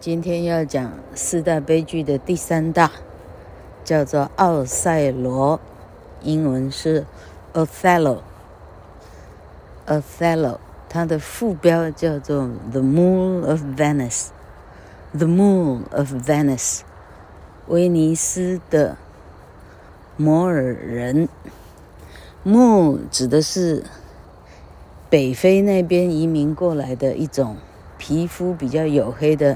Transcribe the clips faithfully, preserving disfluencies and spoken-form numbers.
今天要講四大悲劇的第三大，叫做奧賽羅，英文是 Othello。Othello， 它的副標叫做 The Moon of Venice。The Moon of Venice， 威尼斯的摩爾人。Moon 指的是北非那邊移民過來的一種皮膚比較黝黑的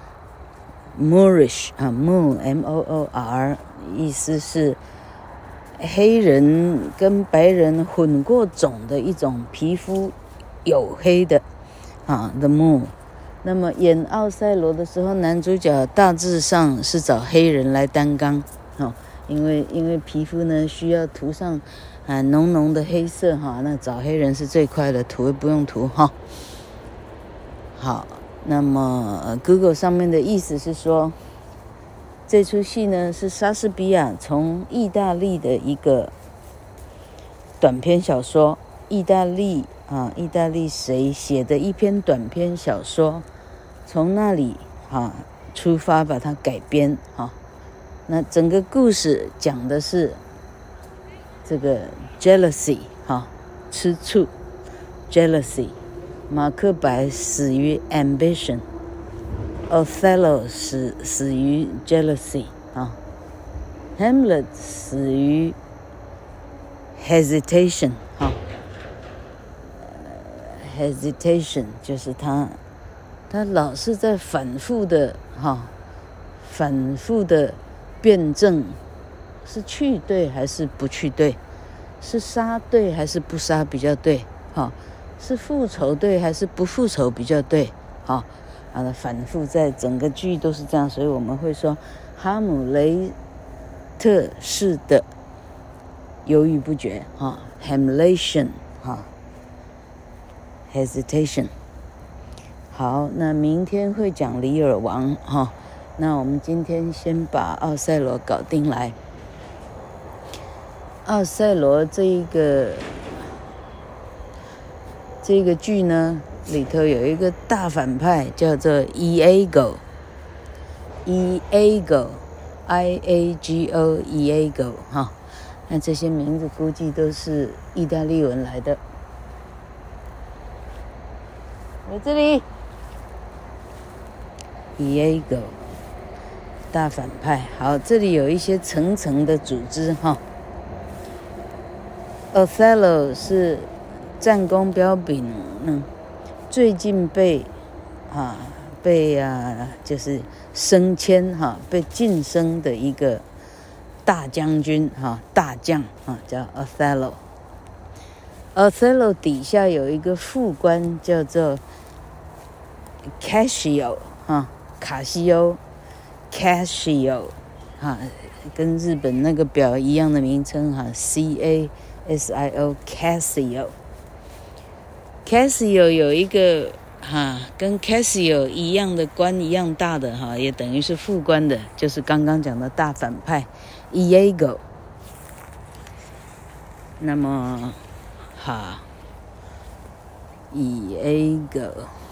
Moorish 啊 Moor M O O R， 意思是黑人跟白人混過種的一種皮膚黝黑的啊 The Moor。那麼演奧賽羅的時候，男主角大致上是找黑人來擔綱，哦，因為因為皮膚呢需要塗上啊濃濃的黑色哈，那找黑人是最快的，塗也不用塗哈。好，那麼 Google 上面的意思是說，這出戲呢是莎士比亞從意大利的一個短篇小說，意大利啊，意大利誰寫的一篇短篇小說，從那裡啊出發把它改編哈。那整個故事講的是這個 jealousy 哈，吃醋 jealousy。馬克白死於 ambition， Othello 死死於 jealousy 啊 ，Hamlet 死於 hesitation 哈、啊、，hesitation 就是他他老是在反覆的哈、啊，反覆的辯證，是去對還是不去對，是殺對還是不殺比較對哈。啊是復仇對還是不復仇比較對？好，啊，反覆在整個劇都是這樣，所以我們會說哈姆雷特式的猶豫不決，哈 ，Hamletian， 哈 ，hesitation。好，那明天會講李爾王，哈，那我們今天先把奧賽羅搞定來。奧賽羅這一個。這個劇呢，裡頭有一個大反派叫做 Iago，Iago，I A G O，Iago 哈，那這些名字估計都是意大利文來的。我這裡 Iago 大反派，好，這裡有一些層層的組織哈。Othello 是戰功彪炳，嗯，最近被啊被啊就是升遷哈、啊，被晉升的一個大將軍哈、啊，大將啊叫 Othello。Othello 底下有一個副官叫做 Cassio 哈，卡西歐 Cassio 哈，跟日本那個表一樣的名稱哈 ，C A S I O Cassio。Cassio 有一個哈跟 Cassio 一樣的官一樣大的哈，也等於是副官的，就是剛剛講的大反派 Iago。那麼哈 Iago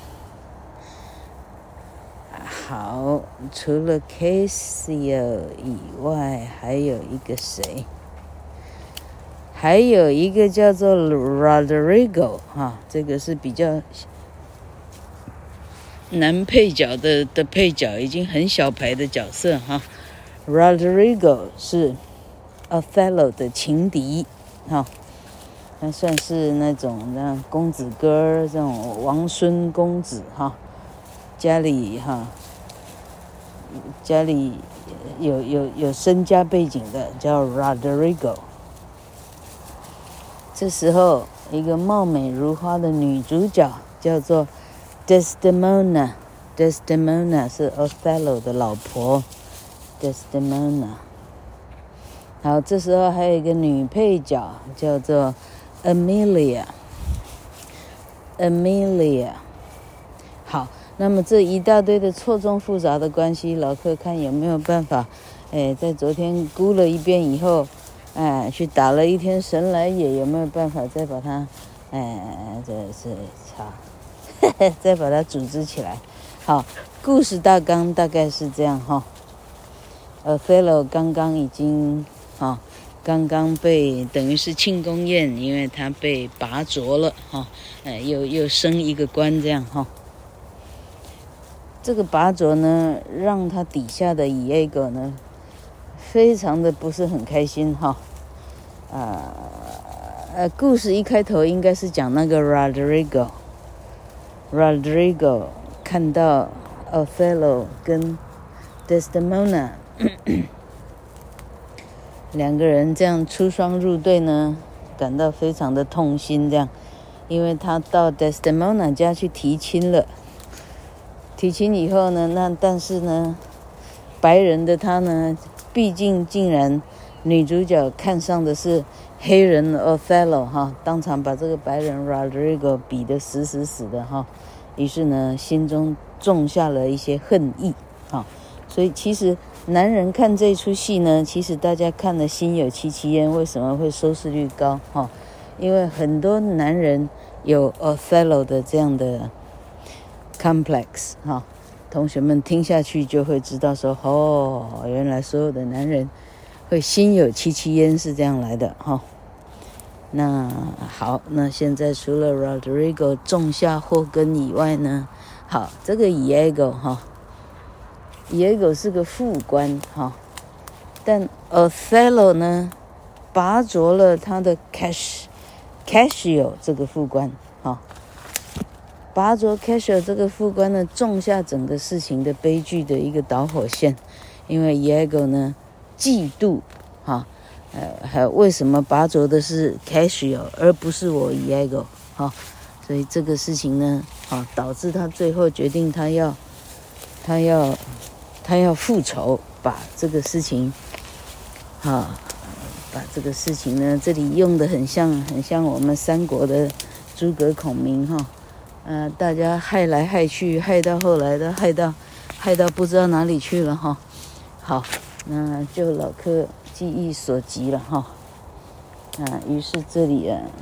好，除了 Cassio 以外，還有一個誰？還有一個叫做 Roderigo 哈，這個是比較男配角的的配角，已經很小牌的角色哈。Roderigo 是 Othello 的情敵哈，他算是那種那公子哥這種王孫公子哈，家裡哈家裡有有有身家背景的叫 Roderigo。這時候，一個貌美如花的女主角叫做 Desdemona。Desdemona 是 Othello 的老婆 ，Desdemona。好，這時候還有一個女配角叫做 Emilia。Emilia。好，那麼這一大堆的錯綜複雜的關係，老客看有沒有辦法，哎，在昨天估了一遍以後。哎，去打了一天神來也，有沒有辦法再把它，哎，這是操，再把它組織起來？好， 故事大綱大概是這樣哈。Othello 剛剛已經哈，剛剛被等於是慶功宴，因為他被拔擢了哈，呃，又又升一個官這樣哈。這個拔擢呢，讓他底下的 Iago 呢，非常的不是很開心哈。啊、呃，呃，故事一開頭應該是講那個 Rodrigo，Rodrigo 看到 Othello 跟 Desdemona 兩個人這樣出雙入對呢，感到非常的痛心這樣，因為他到 Desdemona 家去提親了。提親以後呢，那但是呢，白人的他呢，畢竟竟然女主角看上的是黑人 Othello 哈，當場把這個白人 Rodrigo 比得死死死的哈，於是呢，心中種下了一些恨意哈，所以其實男人看這出戲呢，其實大家看了心有戚戚焉，為什麼會收視率高哈？因為很多男人有 Othello 的這樣的complex 哈，同學們聽下去就會知道說，哦，原來所有的男人會心有戚戚焉是這樣來的哈。那好，那現在除了 Rodrigo 種下禍根以外呢，好，這個 Iago 哈 ，Iago 是個副官哈，但 Othello 呢，拔擢了他的 Cash Cassio 這個副官哈。拔擢 Cassio 這個副官呢，種下整個事情的悲劇的一個導火線，因為 Iago 呢嫉妒，哈，呃，還有為什麼拔擢的是 Cassio 而不是我 Iago， 哈，所以這個事情呢，啊，導致他最後決定他要，他要，他要復仇，把這個事情，哈，把這個事情呢，這裡用的很像，很像我們三國的諸葛孔明，哈。呃，大家害來害去，害到後來的害到，害到不知道哪裡去了哈。好，那就老客記憶所及了哈。啊，於是這裡啊，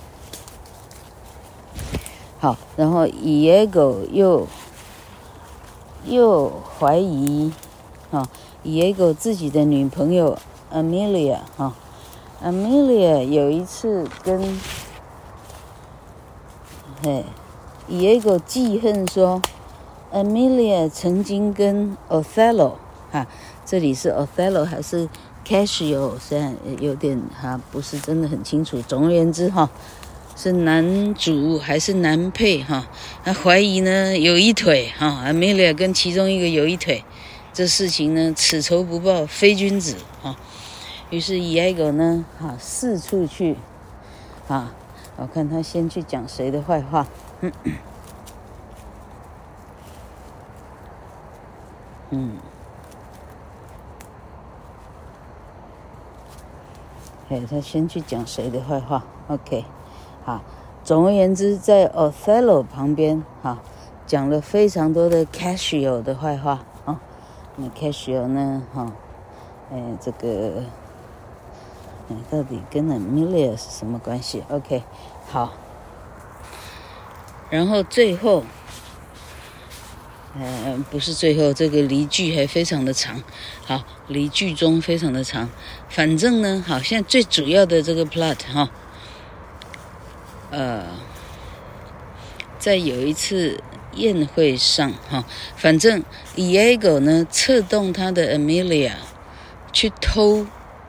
好，然後 Iago 又又懷疑哈 ，Iago 自己的女朋友 Amelia 哈 ，Amelia 有一次跟嘿。Iago 記恨說 ，Amelia 曾經跟 Othello 哈，這裡是 Othello 還是 Cassio？ 雖然有點哈不是真的很清楚。總而言之哈，是男主還是男配哈？他懷疑呢有一腿哈 ，Amelia 跟其中一個有一腿，這事情呢此仇不報非君子哈。於是 Iago 呢哈四處去啊，我看他先去講誰的壞話。嗯，嗯，嘿，他先去講誰的壞話 ？OK， 好。總而言之，在 Othello 旁邊，哈，講了非常多的 Cassio 的壞話啊。那 Cassio 呢，哈，哎，這個，哎，到底跟 Amelia 是什麼關係 ？OK， 好。然後最後，呃，不是最後，這個離劇還非常的長，好，離劇中非常的長。反正呢，好，現在最主要的這個 plot 哈，呃，在有一次宴會上哈，反正 Iago 呢策動他的 Amelia 去偷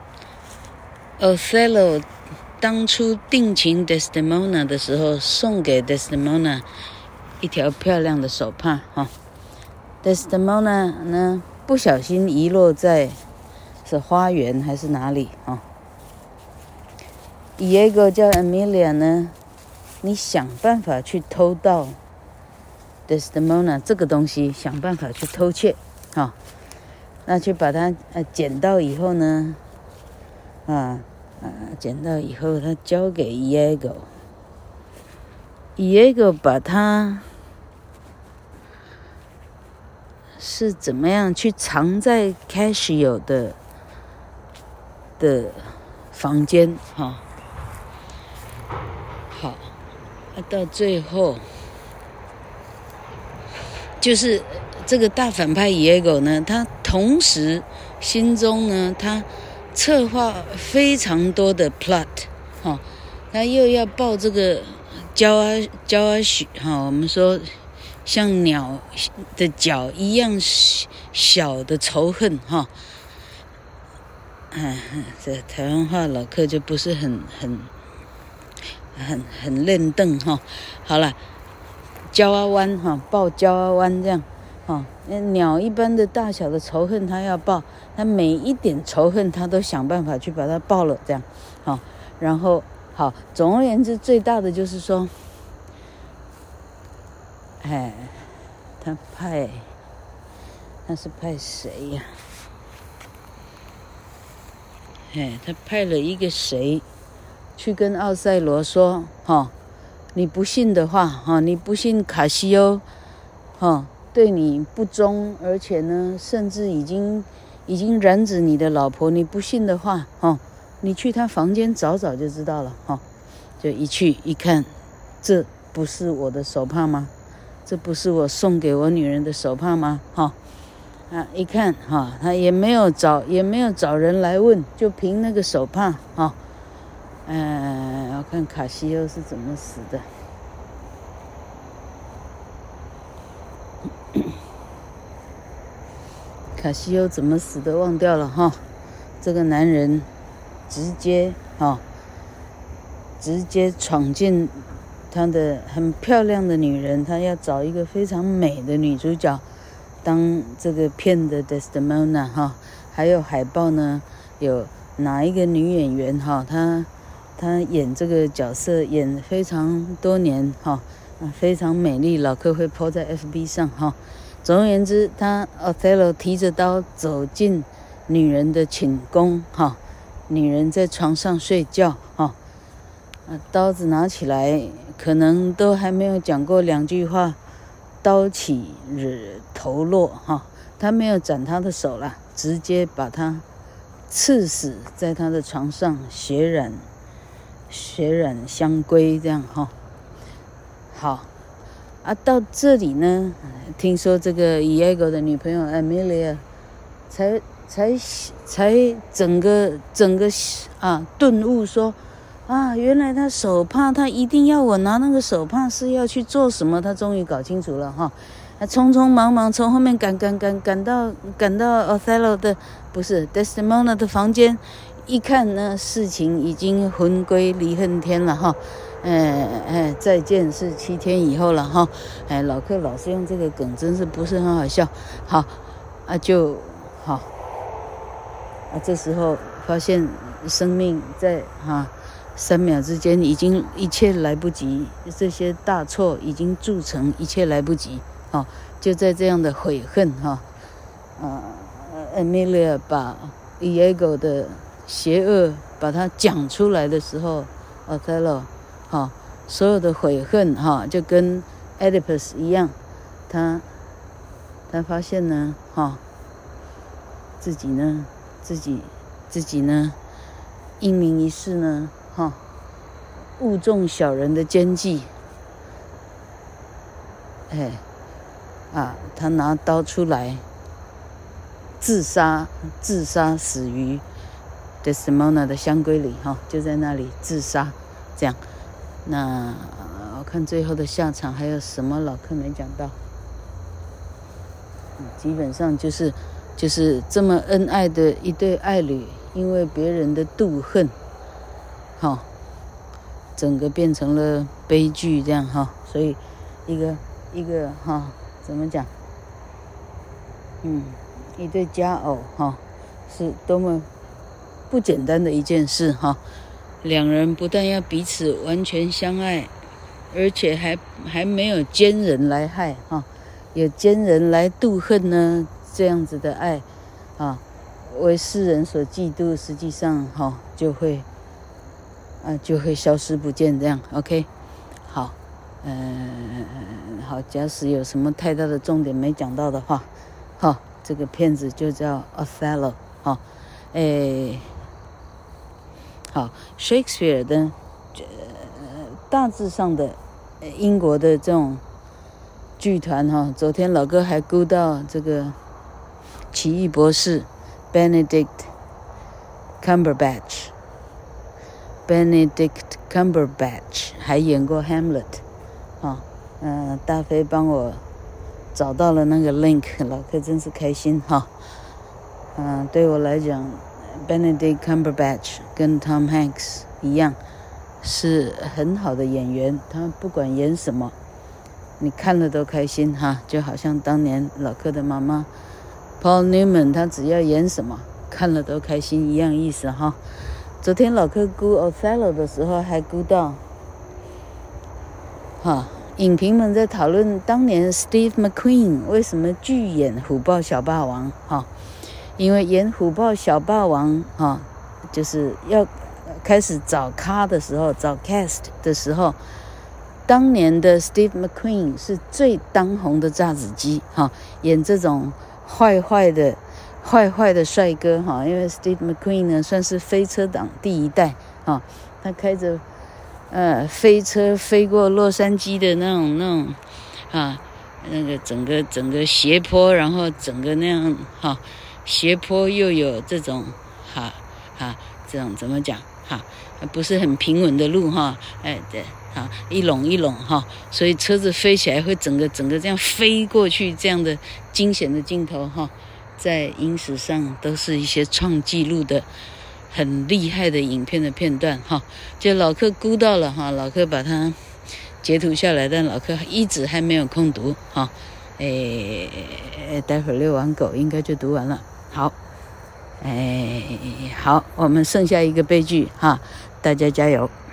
Othello。當初定情 Desdemona 的時候，送給 Desdemona 一條漂亮的手帕哈。Desdemona 呢不小心遺落在是花園還是哪裡哈。Iago 叫 Amelia 呢，你想辦法去偷到 Desdemona 這個東西，想辦法去偷竊哈。那去把它呃撿到以後呢，啊。啊，撿到以後，他交給 Iago，Iago 把他是怎麼樣去藏在 Cassio 的的房間哈。好，到最後就是這個大反派 Iago 呢，他同時心中呢，他策劃非常多的 plot， 哈、哦，他又要報這個焦阿焦阿許，哈、哦，我們說像鳥的腳一樣小的仇恨，哈、哦，嗯，這台灣話老客就不是很很很很練鄧哈，好了，焦阿灣哈，報焦阿灣這樣。哦，鳥一般的大小的仇恨，他要報，他每一點仇恨，他都想辦法去把它報了，這樣，好、哦，然後好，總而言之，最大的就是說，哎，他派，他是派誰呀？哎，他派了一個誰去跟奧賽羅說，哈、哦，你不信的話，哈、哦，你不信卡西歐，哈、哦。對你不忠，而且呢，甚至已經已經染指你的老婆，你不信的話，哦，你去他房間找找就知道了，哈、哦，就一去一看，這不是我的手帕嗎？這不是我送給我女人的手帕嗎？哈、哦，啊，一看哈、哦，他也沒有找也沒有找人來問，就憑那個手帕，哈、哦，嗯、呃，我看卡西歐是怎麼死的。卡西歐怎麼死的忘掉了哈，這個男人直接哈，直接闖進他的很漂亮的女人，他要找一個非常美的女主角當這個片的 Desdemona 哈，還有海報呢，有哪一個女演員哈，她她演這個角色演非常多年哈，非常美麗，老客會 po 在 F B 上哈。總而言之，他 Othello 提着刀走進女人的寢宮，哈，女人在床上睡覺，哈，刀子拿起來，可能都還沒有講過兩句話，刀起頭落，哈，他沒有斬她的手啦，直接把她刺死在她的床上，血染血染香龜，這樣哈，好。啊，到這裡呢，聽說這個 Iago 的女朋友 Emilia 才才才整個整個啊頓悟說，啊，原來他手帕，他一定要我拿那個手帕是要去做什麼？他終於搞清楚了哈，他匆匆忙忙從後面趕趕趕趕到趕到 Othello 的不是 Desdemona 的房間，一看呢，事情已經魂歸離恨天了哈。哎哎，再見是七天以後了哈。哎，老客老是用這個梗，真是不是很好笑。好啊，就好啊。這時候發現生命在哈、啊、三秒之間已經一切來不及，這些大錯已經鑄成，一切來不及。哦、啊，就在這樣的悔恨哈，啊 ，Emilia 把 Iago 的邪惡把它講出來的時候 ，Othello。哈、哦，所有的悔恨哈、哦，就跟 Oedipus 一樣，他他發現呢，哈、哦，自己呢，自己自己呢，英明一世呢，哈、哦，誤中小人的奸計，哎，啊，他拿刀出來，自殺，自殺死於 Desdemona 的香閨裡，哈、哦，就在那裡自殺，這樣。那我看最後的下場還有什麼老客沒講到，基本上就是就是這麼恩愛的一對愛侶，因為別人的妒恨，哈、哦，整個變成了悲劇這樣哈、哦，所以一個一個哈、哦，怎麼講？嗯，一對佳偶哈、哦，是多麼不簡單的一件事哈。哦兩人不但要彼此完全相愛，而且還還沒有奸人來害哈，有奸人來妒恨呢，這樣子的愛啊，為世人所嫉妒，實際上哈就會啊就會消失不見這樣 ，OK， 好，嗯、呃，好，假使有什麼太大的重點沒講到的話，哈，這個片子就叫 Othello 哈，誒。好 ，Shakespeare 的呃大致上的英國的這種劇團哈，昨天老哥還估到這個奇異博士 Benedict Cumberbatch，Benedict Cumberbatch 還演過 Hamlet 啊，嗯、呃，大飛幫我找到了那個 link， 老哥真是開心哈。嗯、呃，對我來講 ，Benedict Cumberbatch 跟 Tom Hanks 一樣，是很好的演員，他不管演什麼。你看了都開心哈，就好像當年老柯的媽媽 Paul Newman， 他只要演什麼看了都開心一樣意思哈。昨天老柯估 Othello 的時候還估到，哈，影評們在討論當年 Steve McQueen 為什麼拒演虎豹小霸王哈，因為演虎豹小霸王哈，就是要開始找咖的時候，找 cast 的時候。當年的 Steve McQueen 是最當紅的炸子雞哈，演這種壞壞的、壞壞的帥哥哈，因為 Steve McQueen 呢算是飛車黨第一代哈，他開着呃飛車飛過洛杉磯的那種那種啊，那個整個整個斜坡，然後整個那樣哈，斜坡又有這種哈哈這種怎麼講哈，不是很平穩的路哈，哎對。啊，一攏一攏哈，所以車子飛起來會整個整個這樣飛過去，這樣的驚險的鏡頭哈，在影史上都是一些創紀錄的很厲害的影片的片段哈。就老柯估到了哈，老柯把它截圖下來，但老柯一直還沒有空讀哈。誒，待會兒遛完狗應該就讀完了。好，誒，好，我們剩下一個悲劇哈，大家加油。